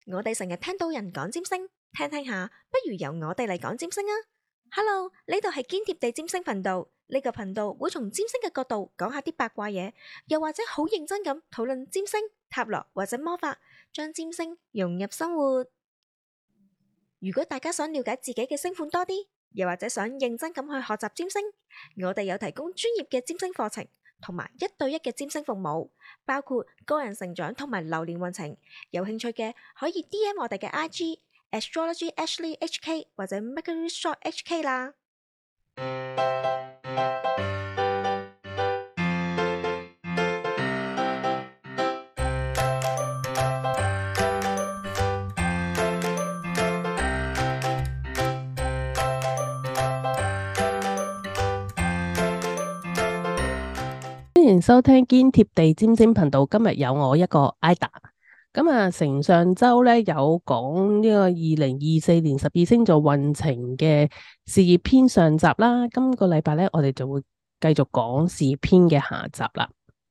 我哋成日聽到人講占星，聽聽下，不如由我哋嚟講占星啊！Hello，呢度係堅貼地占星頻道，呢個頻道會從占星嘅角度講下啲八卦嘢，又或者好認真咁討論占星、塔羅或者魔法，將占星融入生活。如果大家想了解自己嘅星盤多啲，又或者想認真咁去學習占星，我哋有提供專業嘅占星課程，同埋1對1嘅占星服務，包括個人成長同埋流年運程。有興趣嘅可以 DM 我哋嘅 IG Astrology Ashley HK 或者 Mercury Shop HK 啦。 歡迎收聽堅貼地占星頻道。今日有我一個 Ida。承上周咧有講呢個2024年12星座運程嘅事業篇上集啦。今個禮拜咧，我哋就會繼續講事業篇嘅下集啦。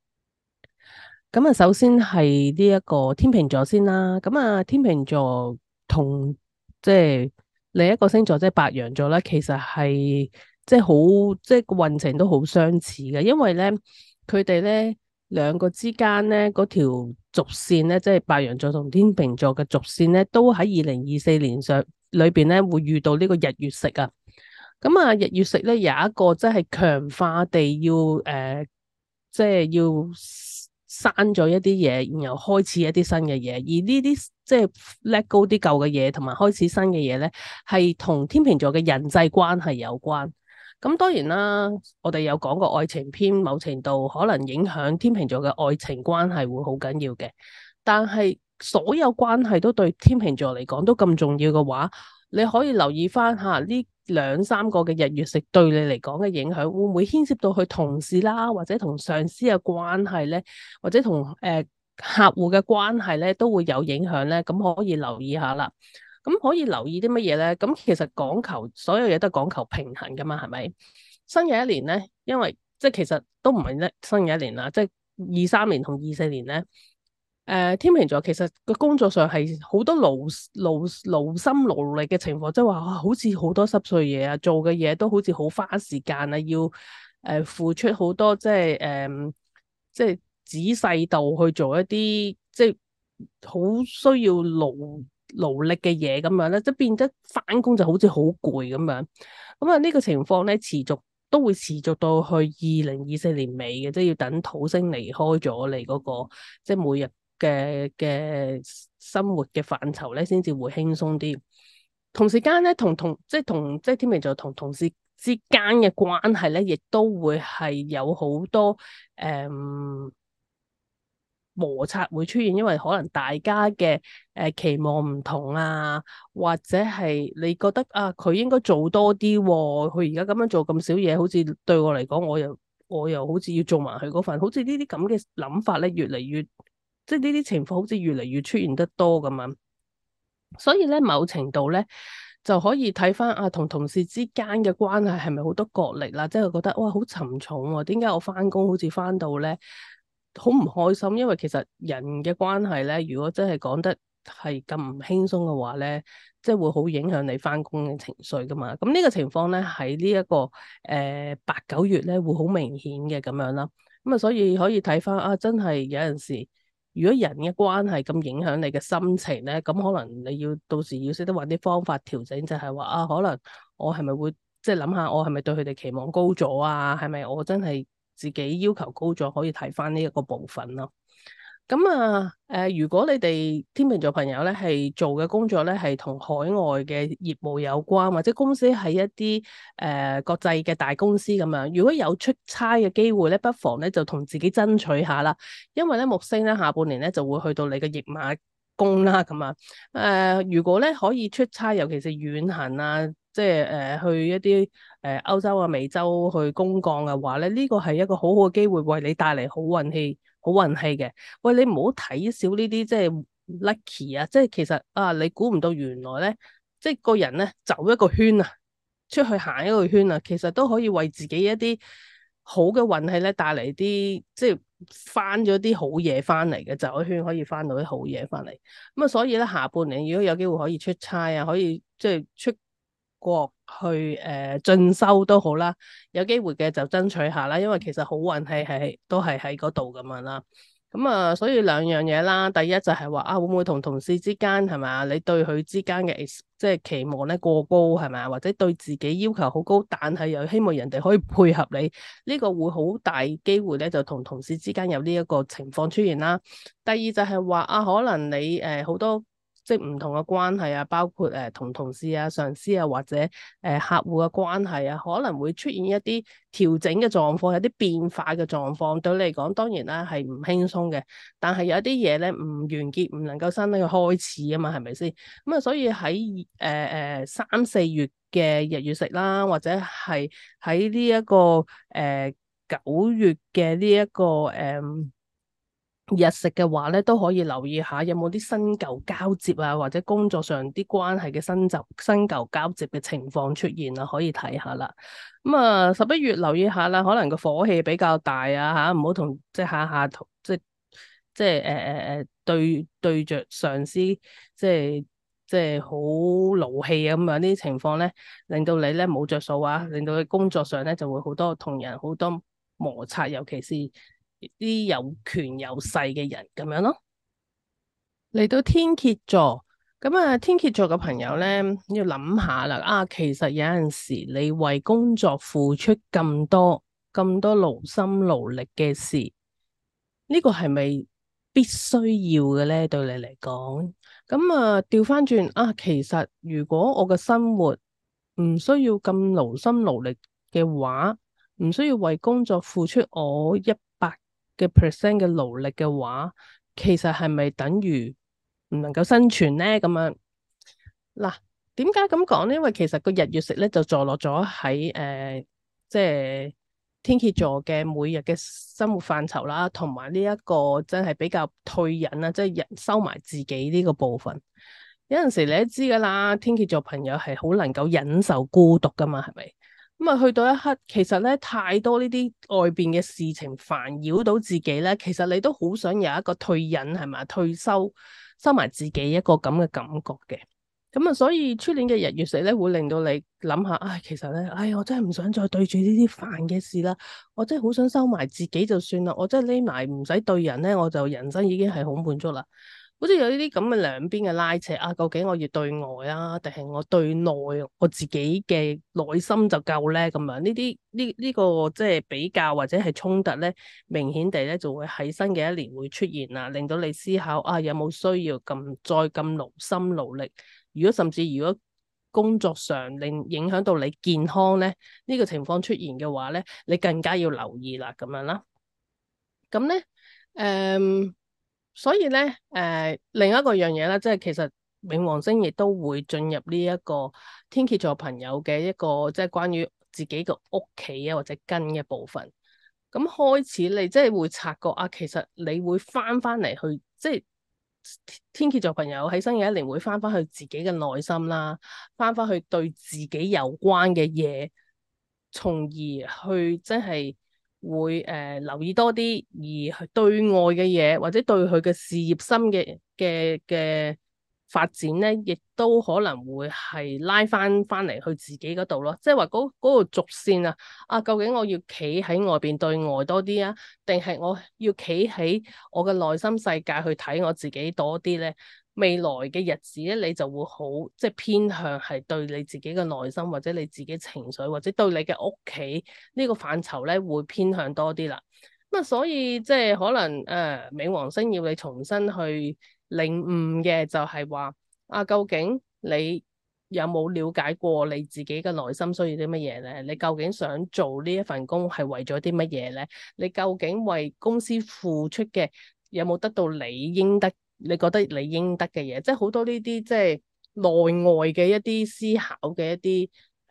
首先係呢一個天秤座先啦。天秤座同即係另一個星座即係白羊座咧，其實係即係好即係個運程都好相似嘅，因為咧佢哋咧兩個之間咧嗰條軸線咧，即係白羊座同天秤座嘅軸線咧，都喺2024年上裏邊咧會遇到呢個日月食啊。日月食咧有一個即係強化地要即係要刪咗一啲嘢，然後開始一啲新嘅嘢。而呢啲即係 let go 啲舊嘅嘢，同埋開始新嘅嘢咧，係同天秤座嘅人際關係有關。咁當然啦，我哋有講過愛情篇，某程度可能影響天秤座嘅愛情關係會好緊要嘅。但係所有關係都對天秤座嚟講都咁重要嘅話，你可以留意翻下呢2-3個嘅日月食對你嚟講嘅影響，會唔會牽涉到去同事啦，或者同上司嘅關係咧，或者同客戶嘅關係咧，都會有影響咧。咁可以留意下啦。咁可以留意啲乜嘢咧？咁其實講求所有嘢都係講求平衡噶嘛，係咪？新嘅一年咧，因為即係其實都唔係咧新嘅一年啦，即係23年同24年咧。天秤座其實個工作上係好多勞心勞力嘅情況，即係話好似好多濕碎嘢啊，做嘅嘢都好似好花時間啊，要付出好多即係仔細度去做一啲即係好需要勞力嘅嘢咁樣咧，即係變得返工就好似好攰咁樣。呢個情況咧都會持續到去2024年尾嘅，即係要等土星離開咗你嗰個即係每日嘅生活嘅範疇咧，先至會輕鬆啲。同時間咧，即係天秤座同同事之間嘅關係咧，亦都會係有好多摩擦會出現，因為可能大家嘅期望唔同啊，或者係你覺得啊，佢應該做多啲喎，佢而家咁樣做咁少嘢，好似對我嚟講，我又好似要做埋佢嗰份，好似呢啲咁嘅諗法咧，越嚟越即係呢啲情況好似越嚟越出現得多咁樣。所以咧，某程度咧就可以睇翻啊，同事之間嘅關係係咪好多角力啦？即係覺得哇，好沉重喎，點解我翻工好似翻到咧好唔開心？因為其實人嘅關係咧，如果真係講得係咁唔輕鬆嘅話咧，即係會好影響你翻工嘅情緒噶嘛。咁呢個情況咧喺呢一個8-9月咧會好明顯嘅咁樣啦。所以可以睇翻啊，真係有陣時，如果人嘅關係咁影響你嘅心情咧，咁可能你要到時要識得揾啲方法調整，就係話啊，可能我係咪會即係諗下，我係咪對佢哋期望高咗啊？係咪我真係自己要求高咗？可以睇翻呢一個部分咯。如果你哋天秤座朋友咧係做嘅工作咧係同海外嘅業務有關，或者公司係一啲國際嘅大公司咁樣，如果有出差嘅機會咧，不妨咧就同自己爭取下啦。因為咧木星咧下半年咧就會去到你嘅驛馬宮啦，咁啊如果咧可以出差，尤其是遠行啊，即係去一啲歐洲啊、美洲去公幹嘅話咧，呢個係一個好好嘅機會，為你帶嚟好運氣嘅。喂，你唔好睇少呢啲即係 lucky 啊！即係其實啊，你估唔到原來咧，即係個人咧走一個圈啊，出去行一個圈啊，其實都可以為自己一啲好嘅運氣咧帶嚟啲即係翻咗啲好嘢翻嚟嘅，走一圈可以翻到啲好嘢翻嚟。咁啊，所以咧下半年如果有機會可以出差啊，可以即係出國去進修都好啦，有機會嘅就爭取下啦，因為其實好運係都係喺嗰度咁樣啦。咁啊，所以兩樣嘢啦，第一就係話啊，會唔會同同事之間係咪啊？你對佢之間嘅即係期望咧過高係咪啊？或者對自己要求好高，但係又希望人哋可以配合你，呢個會好大機會咧，就同同事之間有呢一個情況出現啦。第二就係話啊，可能你好多即係唔同嘅關係啊，包括同同事啊、上司啊，或者客戶嘅關係啊，可能會出現一啲調整嘅狀況，有啲變化嘅狀況。對你嚟講，當然啦係唔輕鬆嘅，但係有一啲嘢咧唔完結，唔能夠新嘅開始啊嘛，係咪先？咁啊，所以喺3、4月嘅日月食啦，或者係喺呢一個9月嘅呢一個日食嘅話咧，都可以留意下有冇啲新舊交接啊，或者工作上啲關係嘅新舊交接嘅情況出現啦，可以睇下啦。咁啊，11月留意下啦，可能個火氣比較大啊吓，唔好同即係下下同即係對着上司即係好勞氣啊咁樣呢啲情況咧，令到你咧冇着數啊，令到你工作上咧就會好多同人好多摩擦，尤其是啲有權有勢嘅人咁樣咯。嚟到天蠍座，咁啊天蠍座嘅朋友咧要諗下啦，啊其實有陣時你為工作付出咁多勞心勞力嘅事，呢個係咪必須要嘅咧？對你嚟講，咁啊調翻轉啊，其實如果我嘅生活唔需要咁勞心勞力嘅話，唔需要為工作付出我100%嘅勞力嘅話，其實係咪等於唔能夠生存咧？咁樣嗱，點解咁講咧？因為其實個日月食咧就坐落咗喺即係天蠍座嘅每日嘅生活範疇啦，同埋呢一個真係比較退隱啦，即係人收埋自己呢個部分。有陣時你都知噶啦，天蠍座朋友係好能夠忍受孤獨噶嘛，係咪？咁啊，去到一刻，其實咧太多呢啲外邊嘅事情煩擾到自己咧，其實你都好想有一個退隱係咪？退收收埋自己一個咁嘅感覺嘅。咁啊，所以出年嘅日月食咧，會令到你諗下，唉，其實咧，唉，我真係唔想再對住呢啲煩嘅事啦，我真係好想收埋自己就算啦，我真係匿埋唔使對人咧，我就人生已經係好滿足啦。好似有呢啲咁嘅兩邊嘅拉扯啊，究竟我要對外啊，定係我對內我自己嘅內心就夠咧？咁樣呢個即係比較或者係衝突咧，明顯地咧就會喺新嘅一年會出現啊，令到你思考啊，有冇需要再咁勞心勞力？甚至如果工作上令影響到你健康咧，呢個情況出現嘅話咧，你更加要留意啦，咁樣啦。咁咧，所以咧，另一個樣嘢咧，即係其實冥王星亦都會進入呢一個天蠍座朋友嘅一個即係關於自己個屋企啊或者根嘅部分。咁開始你即係會察覺啊，其實你會翻嚟去，即係天蠍座朋友喺新嘅一年會翻去自己嘅內心啦，翻去對自己有關嘅嘢，從而去即係會留意多啲，而去對外嘅嘢或者對佢嘅事業心嘅發展咧，亦都可能會係拉翻嚟去自己嗰度咯，即係話嗰個軸線啊，啊究竟我要企喺外邊對外多啲啊，定係我要企喺我嘅內心世界去睇我自己多啲咧？未來嘅日子咧，你就會好即係偏向係對你自己嘅內心或者你自己情緒或者對你嘅屋企呢個範疇咧，會偏向多啲啦。咁啊，所以即係可能冥王星要你重新去領悟嘅就係話啊，究竟你有冇了解過你自己嘅內心需要啲乜嘢咧？你究竟想做呢一份工係為咗啲乜嘢咧？你究竟為公司付出嘅有冇得到你應得？你覺得你應得嘅嘢，即係好多呢啲即係內外嘅一啲思考嘅一啲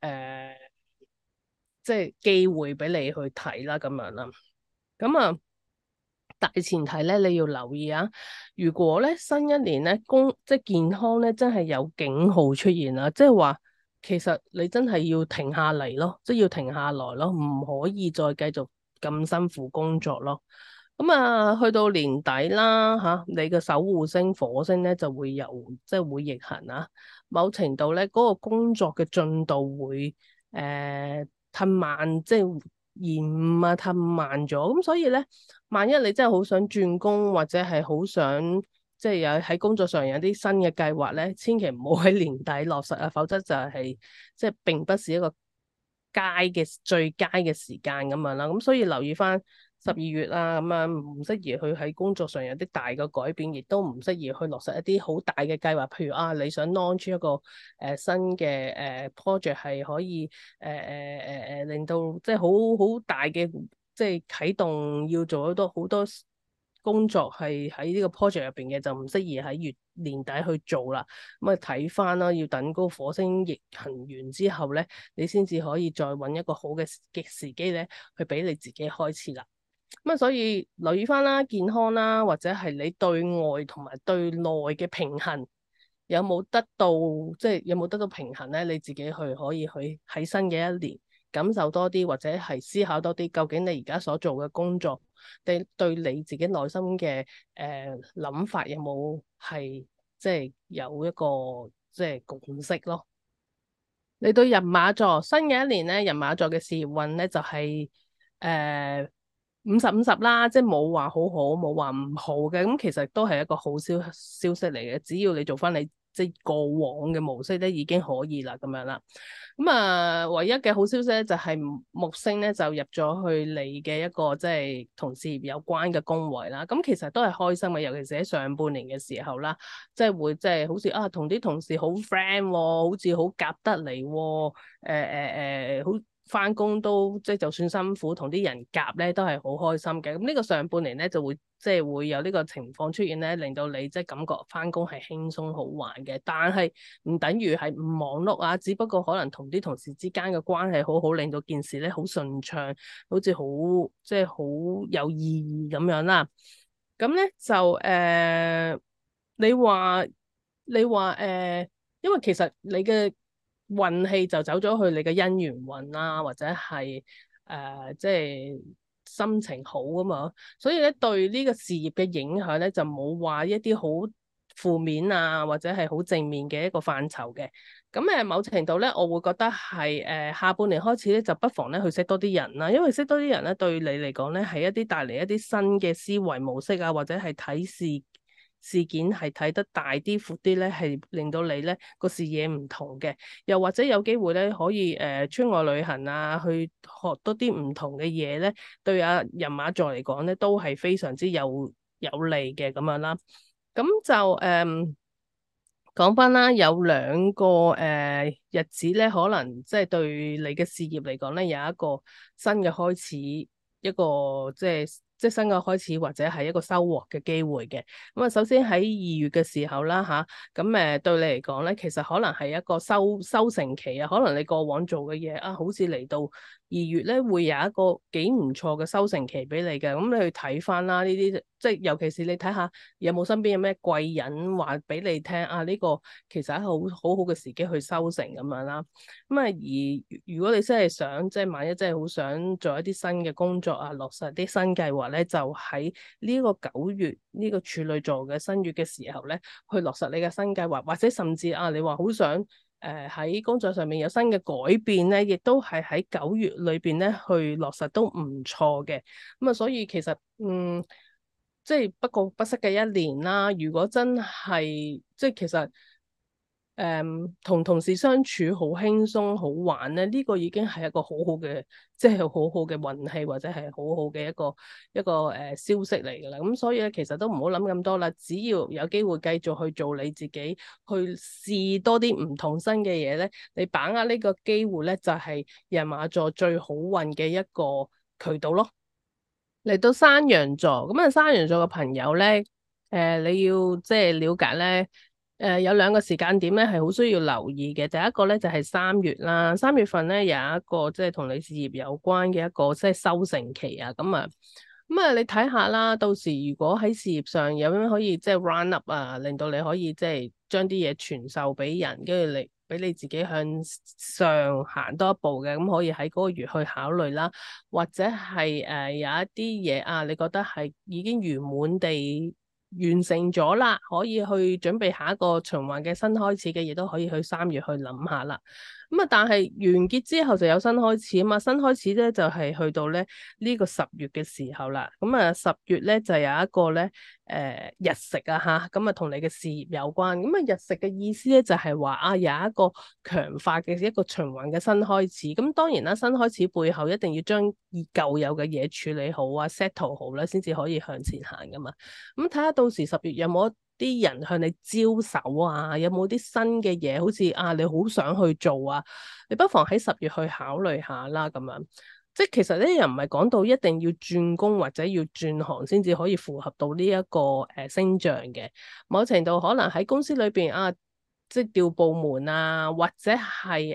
即係機會俾你去睇啦，咁樣啦。咁啊，大前提咧，你要留意啊。如果咧新一年咧即係健康咧，真係有警號出現啦，即係話其實你真係要停下嚟咯，即係要停下來咯，唔可以再繼續咁辛苦工作咯。 咁啊，去到年底啦，你嘅守護星火星咧就會即係會逆行啊。某程度咧，嗰個工作嘅進度會褪慢，即係延誤啊，褪慢咗。咁所以咧，萬一你真係好想轉工，或者係好想即係有喺工作上有啲新嘅計劃咧，千祈唔好喺年底落實啊，否則就係即係並不是一個最佳嘅時間咁樣啦。咁所以留意翻12月啊，咁樣唔適宜去喺工作上有啲大嘅改變，亦都唔適宜去落實一啲好大嘅計劃。譬如啊，你想 launch 一個新嘅project 係可以令到即係好大嘅即係啟動，要做好多工作係喺呢個 project 入邊嘅，就唔適宜喺年底去做啦。咁啊睇翻啦，要等嗰個火星逆行完之後咧，你先至可以再揾一個好嘅時機咧，去俾你自己開始啦。咁啊，所以留意翻啦，健康啦，或者係你對外同埋對內嘅平衡有冇得到，即係有冇得到平衡咧？你自己可以去喺新嘅一年感受多啲，或者係思考多啲，究竟你而家所做嘅工作，對你自己內心嘅諗法有冇係即係有一個即係共識咯？你對人馬座新嘅一年咧，人馬座嘅事業運咧就係50-50啦，即係冇話好好，冇話唔好嘅。咁其實都係一個好消息嚟嘅，只要你做翻你即係過往嘅模式咧，已經可以啦，咁樣啦。咁啊，唯一嘅好消息咧就係木星咧就入咗去你嘅一個即係同事業有關嘅宮位啦。咁其實都係開心嘅，尤其是喺上半年嘅時候啦，即係會即係好似啊同啲同事好 friend，好似好夾得嚟，好。翻工都即係就算辛苦，同啲人夾咧都係好開心嘅。咁呢個上半年咧就會即係會有呢個情況出現咧，令到你即係感覺翻工係輕鬆好玩嘅。但係唔等於係唔忙碌啊，只不過可能同啲同事之間嘅關係好好，令到件事咧好順暢，好似好即係好有意義咁樣啦。咁咧就你話因為其實你嘅運氣就走咗去你嘅姻緣運啦，或者係即係心情好啊嘛，所以咧對呢個事業嘅影響咧就冇話一啲好負面啊，或者係好正面嘅一個範疇嘅。咁某程度咧，我會覺得係下半年開始咧，就不妨咧去識多啲人啦，因為識多啲人咧對你嚟講咧係一啲帶嚟一啲新嘅思維模式啊，或者係睇事件係睇得大啲、闊啲咧，係令到你咧個視野唔同嘅，又或者有機會咧可以出外旅行啊，去學多啲唔同嘅嘢咧，對人馬座嚟講咧都係非常之有利嘅咁樣啦。咁就講翻啦，有兩個日子咧，可能即係對你嘅事業嚟講咧，有一個新嘅開始，一個即係新嘅開始，或者係一個收穫嘅機會嘅。咁啊，首先喺2月嘅時候啦，咁對你嚟講咧，其實可能係一個收成期啊，可能你過往做嘅嘢啊，好似嚟到2月咧，會有一個幾唔錯嘅收成期俾你嘅。咁你去睇翻啦，呢啲即係尤其是你睇下有冇身邊有咩貴人話俾你聽啊，呢個其實係好好嘅時機去收成咁樣啦。咁啊，而如果你真係想即係萬一真係好想做一啲新嘅工作啊，落實啲新計劃咧，就喺呢個9月呢個處女座嘅新月嘅時候咧，去落實你嘅新計劃，或者甚至你話好想喺工作上面有新嘅改變咧，亦都係喺9月裏邊咧去落實都唔錯嘅。咁啊，所以其實即係不過不失嘅一年啦。如果真係即係其實同同事相處好輕鬆好玩咧，呢個已經係一個好好嘅，即係好好嘅運氣，或者係好好嘅一個消息嚟㗎啦。咁所以咧，其實都唔好諗咁多啦，只要有機會繼續去做你自己，去試多啲唔同新嘅嘢咧，你把握呢個機會咧，就係人馬座最好運嘅一個渠道咯。嚟到山羊座，咁啊山羊座嘅朋友咧，你要即係了解咧，有兩個時間點咧係好需要留意嘅。第一個咧就係3月啦，3月份咧有一個即係同你事業有關嘅一個即係收成期啊，咁啊你睇下啦，到時如果喺事業上有咩可以即係 run up 啊，令到你可以即係將啲嘢傳授俾人，跟住俾你自己向上行多一步嘅，咁可以喺嗰個月去考慮啦，或者係有一啲嘢啊，你覺得係已經圓滿地完成咗啦，可以去準備下一個循環嘅新開始嘅嘢，都可以去3月去諗下啦。咁啊，但係完結之後就有新開始啊嘛，新開始咧就係去到咧呢個10月嘅時候啦。咁啊10月咧就有一個咧日食啊吓，咁啊同你嘅事業有關。咁啊日食嘅意思咧就係話啊有一個強化嘅一個循環嘅新開始。咁當然啦，新開始背後一定要將舊有嘅嘢處理好啊 settle 好啦，先至可以向前行噶嘛。咁睇下到時10月有冇啲人向你招手啊？有冇啲新嘅嘢？好似啊，你好想去做啊？你不妨喺10月去考慮下啦。咁樣即係其實咧，又唔係講到一定要轉工或者要轉行先至可以符合到呢一個星象嘅。某程度可能喺公司裏邊啊，即係調部門啊，或者係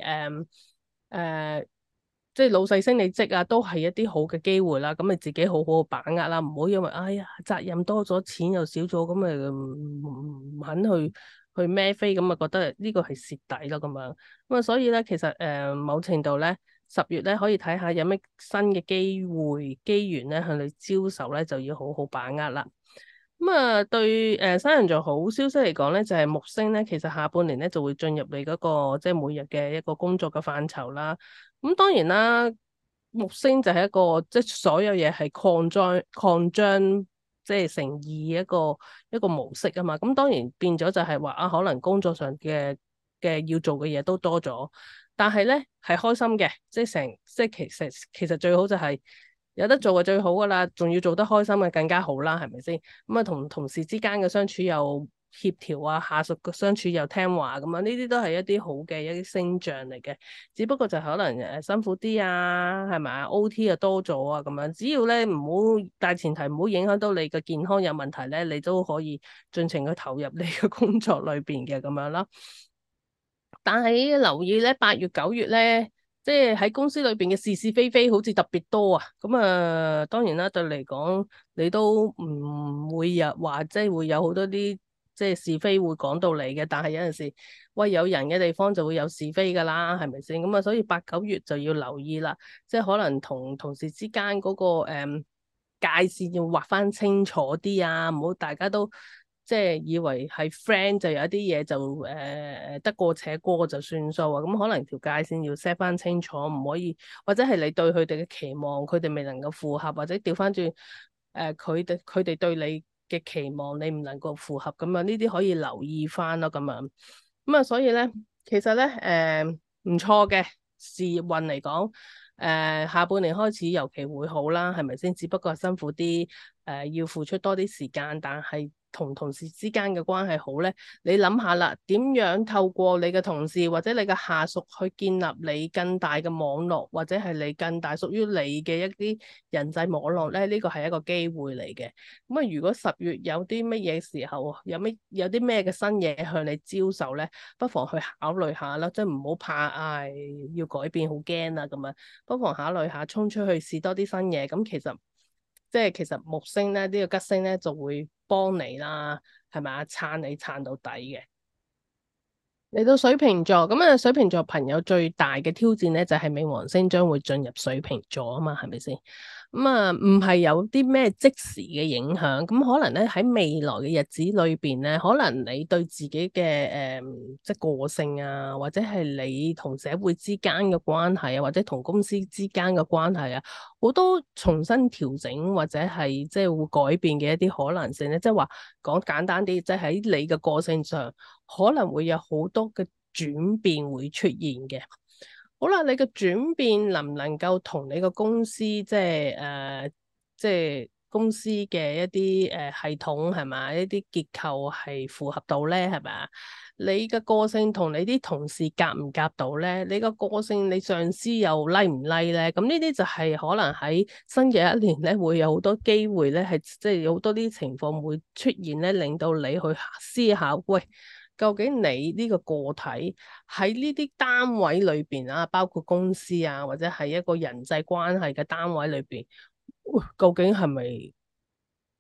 即係老細升你職啊，都係一啲好嘅機會啦。咁你自己好好把握啦，唔好因為哎呀責任多咗，錢又少咗，咁咪唔肯去孭飛，咁啊覺得呢個係蝕底咯咁樣。咁啊，所以咧，其實某程度咧，10月咧可以睇下有咩新嘅機會機緣咧向你招手咧，就要好好把握啦。咁啊，對山羊座好消息嚟講咧，就係木星咧，其實下半年咧就會進入你嗰個即係每日嘅一個工作嘅範疇啦。咁當然啦，木星就係一個即係所有嘢係擴張即係乘二一個模式啊嘛。咁當然變咗就係話啊，可能工作上嘅要做嘅嘢都多咗，但係咧係開心嘅，即係其實最好就係有得做就最好噶啦，仲要做得開心嘅更加好啦，係咪先？咁啊，同同事之間嘅相處又協調啊，下屬嘅相處又聽話咁啊，呢啲都係一啲好嘅一啲星象嚟嘅。只不過就可能辛苦啲啊，係咪啊？OT 又多咗啊，咁樣只要咧唔好，大前提唔好影響到你嘅健康有問題咧，你都可以盡情去投入你嘅工作裏邊嘅咁樣啦。但係留意咧，8月9月咧，即係喺公司裏邊嘅是是非非好似特別多啊。咁啊，當然啦，對你嚟講，你都唔會有話，即係會有好多啲即係是非會講到你嘅。但係有陣時，喂，有人嘅地方就會有是非噶啦，係咪先？咁啊，所以8、9月就要留意啦。即係可能同同事之間嗰個界線要劃翻清楚啲啊，唔好大家都即係以為係 friend 就有一啲嘢就得過且過就算數啊，咁可能條界線要 set 翻清楚，唔可以或者係你對佢哋嘅期望，佢哋未能夠符合，或者調翻轉佢哋對你嘅期望，你唔能夠符合咁啊，呢啲可以留意翻咯，咁樣咁啊，所以咧其實咧唔錯嘅事業運嚟講。下半年開始尤其會好啦，係咪先？只不過係辛苦啲，要付出多啲時間，但係同同事之間嘅關係好咧。你諗下啦，點樣透過你嘅同事或者你嘅下屬去建立你更大嘅網絡，或者係你更大屬於你嘅一啲人際網絡咧？呢個係一個機會嚟嘅。咁啊，如果10月有啲乜嘢時候，有啲咩嘅新嘢向你招手咧，不妨去考慮下啦，即係唔好怕，要改變好驚啊咁樣。不妨考慮下，衝出去試多啲新嘢。咁其實木星咧，呢個吉星咧就會幫你啦，係咪啊？撐你撐到底嘅。嚟到水瓶座，咁啊，水瓶座朋友最大嘅挑戰咧，就係冥王星將會進入水瓶座啊嘛，係咪先？咁啊，唔係有啲咩即時嘅影響，咁可能咧喺未來嘅日子裏邊咧，可能你對自己嘅即係個性啊，或者係你同社會之間嘅關係啊，或者同公司之間嘅關係啊，好多重新調整或者係即係會改變嘅一啲可能性咧，即係話講簡單啲，即係喺你嘅個性上。可能會有好多嘅轉變會出現嘅。好啦，你嘅轉變能唔能夠同你個公司即係公司嘅一啲系統係咪一啲結構係符合到咧？係咪啊？你嘅個性同你啲同事夾唔夾到咧？你個個性你上司又 like 唔 like 咧？咁呢啲就係可能喺新嘅一年咧，會有好多機會咧，係即係有好多啲情況會出現咧，令到你去思考，喂。究竟你呢個個體喺呢啲單位裏邊啊，包括公司啊，或者係一個人際關係嘅單位裏邊，究竟係咪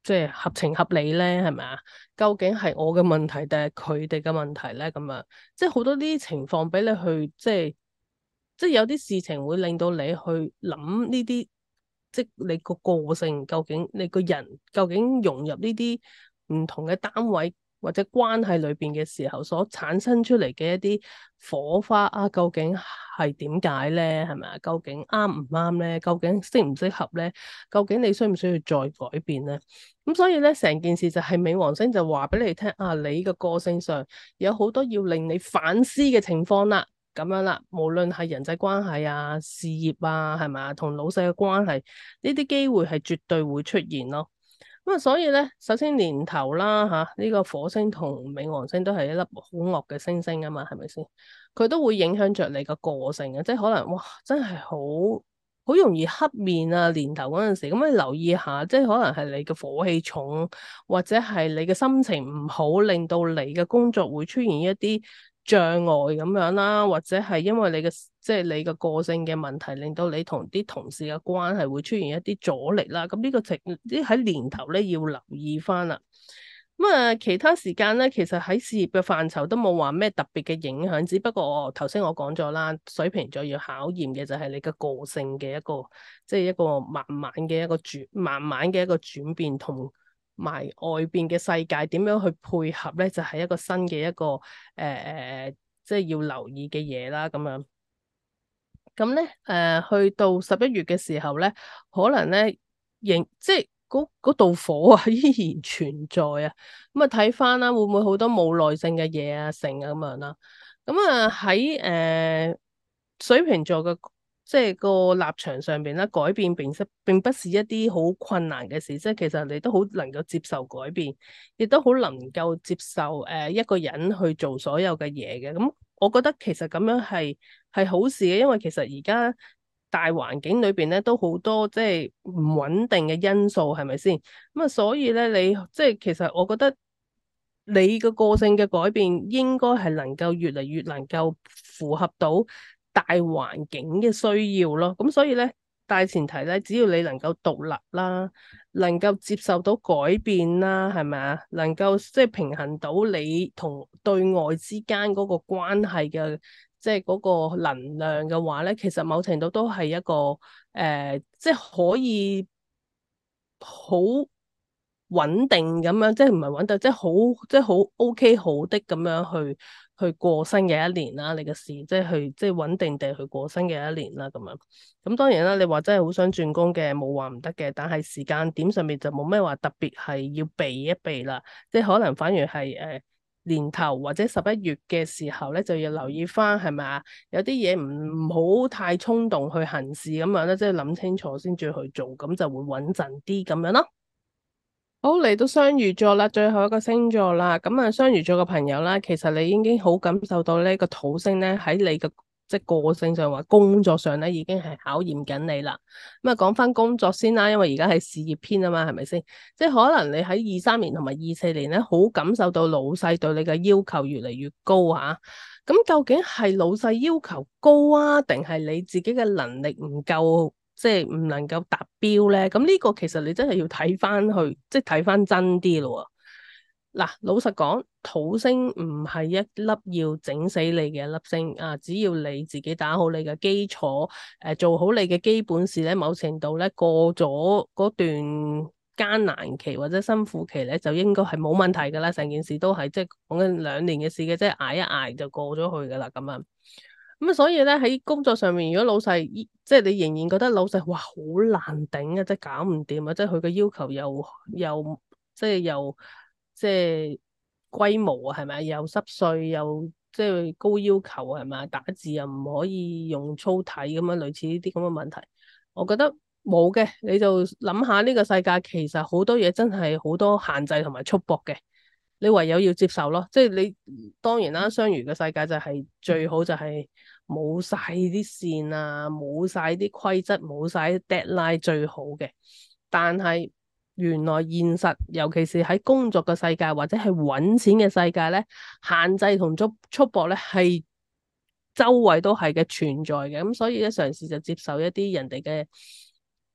即係合情合理咧？係咪啊？究竟係我嘅問題定係佢哋嘅問題咧？咁樣即係好多呢啲情況俾你去即係有啲事情會令到你去諗呢啲，即係你個個性究竟你個人究竟融入呢啲唔同嘅單位或者關係裏邊嘅時候，所產生出嚟嘅一啲火花啊，究竟係點解咧？係咪啊？究竟啱唔啱咧？究竟適唔適合咧？究竟你需唔需要再改變咧？咁所以咧，成件事就係冥王星就話俾你聽啊，你嘅個性上有好多要令你反思嘅情況啦。咁樣啦，無論係人際關係啊、事業啊，係咪啊，同老細嘅關係，呢啲機會係絕對會出現咯。咁啊，所以咧，首先年頭啦吓，呢個火星同冥王星都係一粒好惡嘅星星啊嘛，係咪先？佢都會影響着你個個性嘅，即係可能哇，真係好容易黑面啊！年頭嗰陣時，咁你留意下，即係可能係你嘅火氣重，或者係你嘅心情唔好，令到你嘅工作會出現一啲障礙咁樣啦，或者係因為你嘅即係你嘅個性嘅問題，令到你同啲同事嘅關係會出現一啲阻力啦。咁呢個情啲喺年頭咧要留意翻啦。咁啊，其他時間咧，其實喺事業嘅範疇都冇話咩特別嘅影響，只不過我頭先我講咗啦，水瓶座要考驗嘅就係你嘅個性嘅一個，即係一個慢慢嘅一個轉變，同埋外邊嘅世界點樣去配合咧，就係一個新嘅一個即係要留意嘅嘢啦，咁樣。咁咧，去到11月嘅時候咧，可能咧，即係嗰道火啊，依然存在啊。咁啊，睇翻啦，會唔會好多冇耐性嘅嘢啊，成啊咁樣啦。咁啊，喺水瓶座嘅即係個立場上邊咧，改變並不是一啲好困難嘅事，即係其實你都好能夠接受改變，亦都好能夠接受一個人去做所有嘅嘢嘅。咁我覺得其實咁樣係好事嘅，因為其實而家大環境裏邊咧都好多即係唔穩定嘅因素，係咪先？咁啊，所以咧你即係其實我覺得你個性嘅改變應該係能夠越嚟越能夠符合到大環境嘅需要咯。咁所以咧，大前提咧，只要你能夠獨立啦，能夠接受到改變啦，係咪啊？能夠即係平衡到你同對外之間嗰個關係嘅，即係嗰個能量嘅話咧，其實某程度都係一個即係可以好穩定咁樣，即係唔係穩定，即係好 OK 好的咁樣去過新嘅一年啦。你嘅事即係即係穩定地去過新嘅一年啦，咁樣。咁當然啦，你話真係好想轉工嘅，冇話唔得嘅，但係時間點上面就冇咩話特別係要避一避啦。即係可能反而係年頭或者11月嘅時候咧，就要留意翻係咪啊？有啲嘢唔好太衝動去行事咁樣咧，即係諗清楚先至去做，咁就會穩陣啲咁樣咯。好，嚟到雙魚座啦，最後一個星座啦。咁啊，雙魚座嘅朋友啦，其實你已經好感受到呢個土星咧喺你嘅即係個性上或工作上咧，已經係考驗緊你啦。咁啊，講翻工作先啦，因為而家係事業篇啊嘛，係咪先？即係可能你喺23年同埋24年咧，好感受到老細對你嘅要求越嚟越高吓。咁究竟係老細要求高啊，定係你自己嘅能力唔夠？即係唔能夠達標咧，咁呢個其實你真係要睇翻去，即係睇翻真啲咯。嗱，老實講，土星唔係一粒要整死你嘅一粒星啊，只要你自己打好你嘅基礎，做好你嘅基本事咧，某程度咧過咗嗰段艱難期或者辛苦期咧，就應該係冇問題噶啦，成件事都係即係講緊2年嘅事嘅，即係捱一捱就過咗去噶啦咁樣。咁啊，所以咧喺工作上面，如果老細即係你仍然覺得老細哇好難頂啊，即係搞唔掂啊，即係佢嘅要求又即係又即係龜毛啊，係咪？又濕碎又即係高要求係咪？打字又唔可以用粗體咁樣，類似呢啲咁嘅問題，我覺得冇嘅，你就諗下呢個世界其實好多嘢真係好多限制同埋束縛嘅。你唯有要接受咯，即係你當然啦，雙魚嘅世界就係最好就係冇晒啲線啊，冇晒啲規則，冇晒啲 deadline 最好嘅。但係原來現實，尤其是喺工作嘅世界或者係揾錢嘅世界咧，限制同束縛咧係周圍都係嘅存在嘅。咁所以咧，嘗試就接受一啲人哋嘅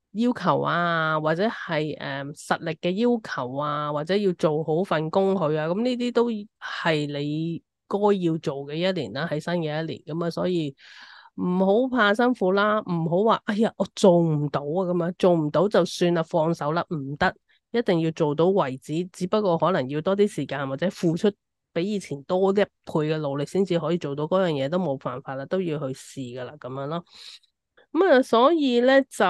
要求啊，或者係實力嘅要求啊，或者要做好份工佢啊，咁呢啲都係你該要做嘅一年啦，喺新嘅一年咁啊，所以唔好怕辛苦啦，唔好話哎呀我做唔到啊咁樣，做唔到就算啦，放手啦，唔得，一定要做到為止，只不過可能要多啲時間或者付出比以前多一倍嘅努力先至可以做到嗰樣嘢，都冇辦法啦，都要去試噶啦，咁樣咯。咁啊，所以咧就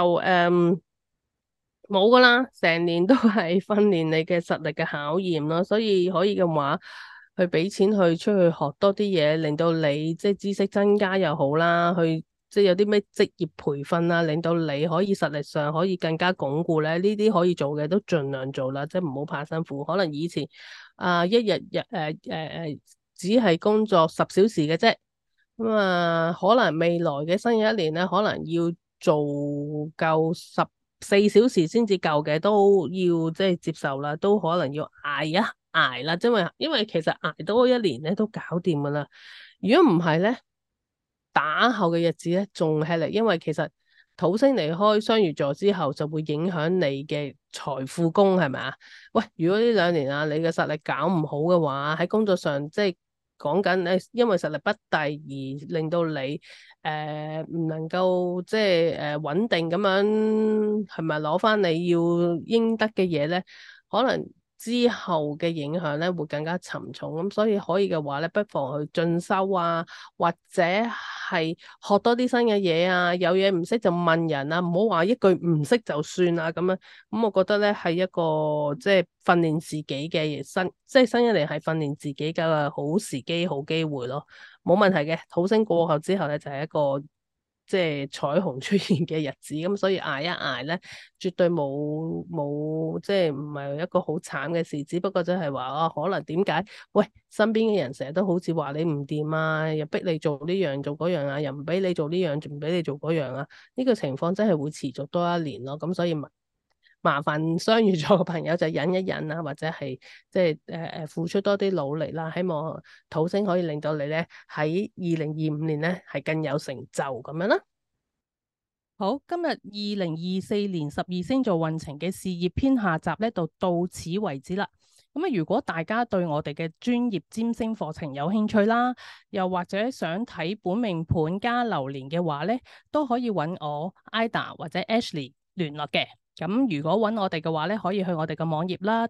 冇噶啦，成年都係訓練你嘅實力嘅考驗咯，所以可以嘅話，去俾錢去出去學多啲嘢，令到你即係知識增加又好啦，去即係有啲咩職業培訓啊，令到你可以實力上可以更加鞏固咧，呢啲可以做嘅都盡量做啦，即係唔好怕辛苦。可能以前一日只係工作10小時嘅啫。咁啊，可能未來嘅新嘅一年咧，可能要做夠14小時先至夠嘅，都要即係接受啦，都可能要捱一捱啦，因為其實捱多一年咧都搞掂噶啦。如果唔係咧，打後嘅日子咧仲吃力，因為其實土星離開雙魚座之後，就會影響你嘅財富宮，係咪啊？喂，如果呢2年啊，你嘅實力搞唔好嘅話，喺工作上即係講緊誒，因為實力不濟而令到你唔能夠即係穩定咁樣，係咪攞翻你要應得嘅嘢咧？可能之後嘅影響咧會更加沉重，咁所以可以嘅話咧，不妨去進修啊，或者係學多啲新嘅嘢啊，有嘢唔識就問人啊，唔好話一句唔識就算啊咁樣。咁我覺得咧係一個即係訓練自己嘅即係新一年係訓練自己嘅好時機、好機會咯，冇問題嘅。土星過後之後咧就係一個即係彩虹出現嘅日子，咁所以捱一捱咧，絕對冇即係唔係一個好慘嘅事，只不過即係話啊，可能點解？喂，身邊嘅人成日都好似話你唔掂啊，又逼你做呢樣做嗰樣啊，又唔俾你做呢樣，仲唔俾你做嗰樣啊？呢個情況真係會持續多一年咯，咁所以麻煩雙魚座嘅朋友就忍一忍啦，或者係即係付出多啲努力啦，希望土星可以令到你咧喺2025年咧係更有成就咁樣啦。 好，今日2024年12星座運程嘅事業篇下集咧，就到此為止啦。咁啊，如果大家對我哋嘅專業占星課程有興趣啦，又或者想睇本命盤加流年嘅話咧，都可以揾我 Ida 或者 Ashley 聯絡嘅。咁如果揾我哋嘅話咧，可以去我哋嘅網頁啦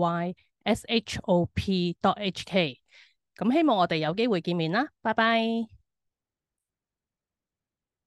，www.mercuryshop.hk。咁希望我哋有機會見面啦，拜拜。